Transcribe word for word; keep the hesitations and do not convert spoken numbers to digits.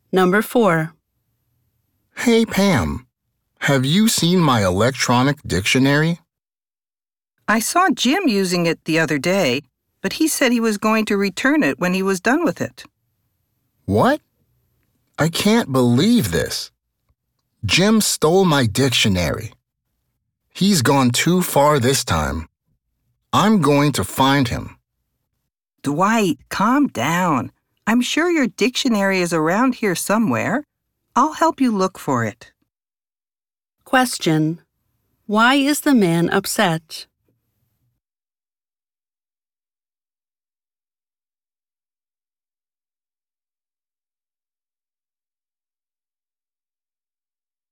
Number four. Hey, Pam, have you seen my electronic dictionary? I saw Jim using it the other day, but he said he was going to return it when he was done with it. What? I can't believe this. Jim stole my dictionary. He's gone too far this time. I'm going to find him. Dwight, calm down. I'm sure your dictionary is around here somewhere. I'll help you look for it. Question. Why is the man upset?